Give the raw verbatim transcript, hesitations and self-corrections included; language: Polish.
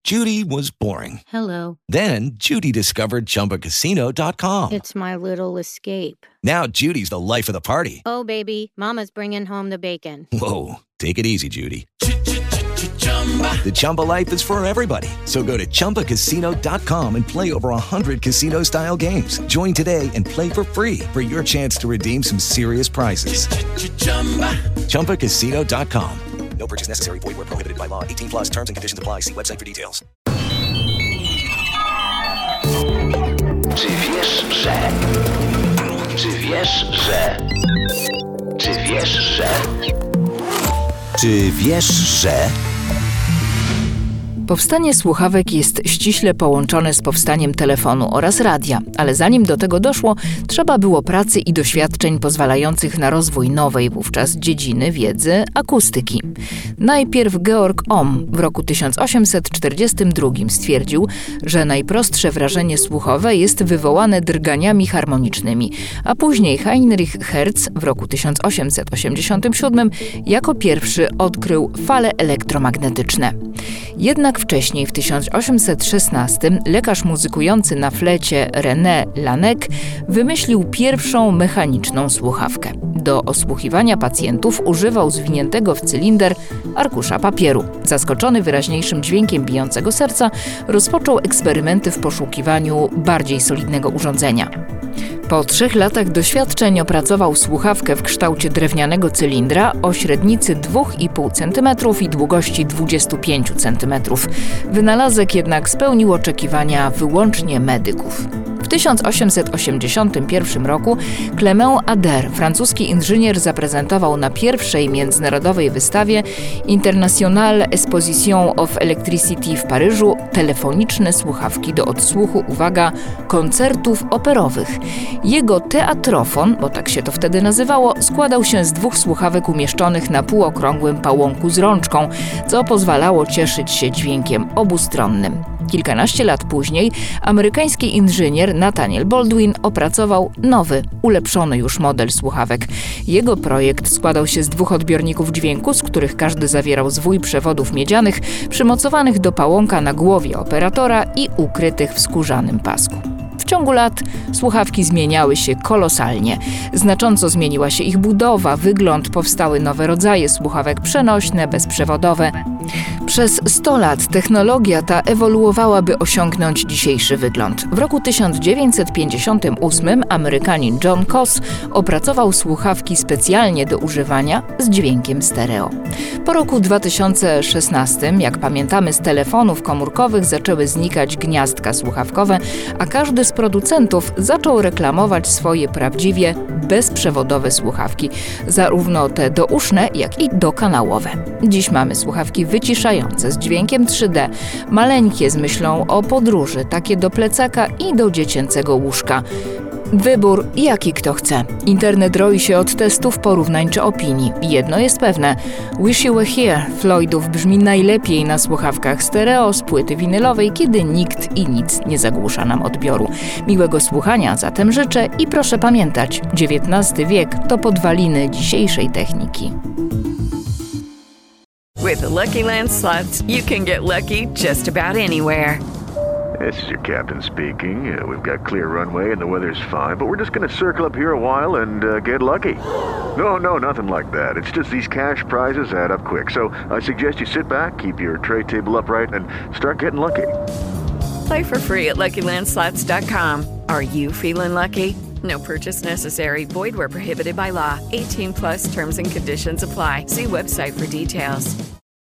Judy was boring. Hello. Then Judy discovered Chumba Casino dot com. It's my little escape. Now Judy's the life of the party. Oh, baby, mama's bringing home the bacon. Whoa, take it easy, Judy. The Chumba life is for everybody. So go to Chumba Casino dot com and play over one hundred casino-style games. Join today and play for free for your chance to redeem some serious prizes. Chumba Casino dot com. No purchase necessary. Void where prohibited by law. eighteen plus terms and conditions apply. See website for details. Czy wiesz, że... Czy wiesz, że... Czy wiesz, że... Czy wiesz, że... Powstanie słuchawek jest ściśle połączone z powstaniem telefonu oraz radia, ale zanim do tego doszło, trzeba było pracy i doświadczeń pozwalających na rozwój nowej wówczas dziedziny wiedzy akustyki. Najpierw Georg Ohm w roku tysiąc osiemset czterdziestym drugim stwierdził, że najprostsze wrażenie słuchowe jest wywołane drganiami harmonicznymi, a później Heinrich Hertz w roku tysiąc osiemset osiemdziesiątym siódmym jako pierwszy odkrył fale elektromagnetyczne. Jednak wcześniej, w tysiąc osiemset szesnastym, lekarz muzykujący na flecie René Laennec wymyślił pierwszą mechaniczną słuchawkę. Do osłuchiwania pacjentów używał zwiniętego w cylinder arkusza papieru. Zaskoczony wyraźniejszym dźwiękiem bijącego serca, rozpoczął eksperymenty w poszukiwaniu bardziej solidnego urządzenia. Po trzech latach doświadczeń opracował słuchawkę w kształcie drewnianego cylindra o średnicy dwa i pół centymetra i długości dwadzieścia pięć centymetrów. Wynalazek jednak spełnił oczekiwania wyłącznie medyków. W tysiąc osiemset osiemdziesiątym pierwszym roku Clement Ader, francuski inżynier, zaprezentował na pierwszej międzynarodowej wystawie International Exposition of Electricity w Paryżu telefoniczne słuchawki do odsłuchu, uwaga, koncertów operowych. Jego teatrofon, bo tak się to wtedy nazywało, składał się z dwóch słuchawek umieszczonych na półokrągłym pałąku z rączką, co pozwalało cieszyć się dźwiękiem obustronnym. Kilkanaście lat później amerykański inżynier Nathaniel Baldwin opracował nowy, ulepszony już model słuchawek. Jego projekt składał się z dwóch odbiorników dźwięku, z których każdy zawierał zwój przewodów miedzianych przymocowanych do pałąka na głowie operatora i ukrytych w skórzanym pasku. W ciągu lat słuchawki zmieniały się kolosalnie. Znacząco zmieniła się ich budowa, wygląd, powstały nowe rodzaje słuchawek przenośne, bezprzewodowe. Przez sto lat technologia ta ewoluowała, by osiągnąć dzisiejszy wygląd. W roku tysiąc dziewięćset pięćdziesiątym ósmym Amerykanin John Koss opracował słuchawki specjalnie do używania z dźwiękiem stereo. Po roku dwa tysiące szesnastym, jak pamiętamy, z telefonów komórkowych zaczęły znikać gniazdka słuchawkowe, a każdy z producentów zaczął reklamować swoje prawdziwie bezprzewodowe słuchawki, zarówno te douszne, jak i dokanałowe. Dziś mamy słuchawki wyciszające z dźwiękiem trzy D, maleńkie z myślą o podróży, takie do plecaka i do dziecięcego łóżka. Wybór jaki kto chce. Internet roi się od testów, porównań czy opinii. Jedno jest pewne. Wish You Were Here Floydów brzmi najlepiej na słuchawkach stereo z płyty winylowej, kiedy nikt i nic nie zagłusza nam odbioru. Miłego słuchania zatem życzę i proszę pamiętać, dziewiętnasty wiek to podwaliny dzisiejszej techniki. With the Lucky Land Slots, you can get lucky just about anywhere. This is your captain speaking. Uh, we've got clear runway and the weather's fine, but we're just going to circle up here a while and uh, get lucky. No, no, nothing like that. It's just these cash prizes add up quick. So I suggest you sit back, keep your tray table upright, and start getting lucky. Play for free at Lucky Land Slots dot com. Are you feeling lucky? No purchase necessary. Void where prohibited by law. eighteen plus terms and conditions apply. See website for details.